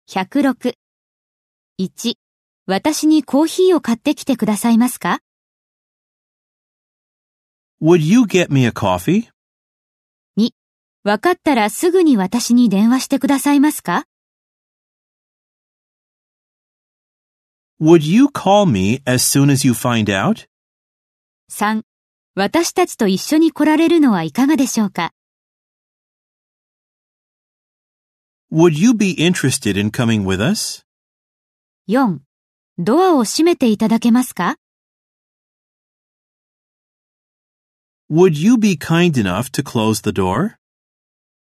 106。1、私にコーヒーを買ってきてくださいますか？ Would you get me a coffee? 2、わかったらすぐに私に電話してくださいますか？ Would you call me as soon as you find out? 3、私たちと一緒に来られるのはいかがでしょうか？ Would you be interested in coming with us? 4、ドアを閉めていただけますか？ Would you be kind enough to close the door?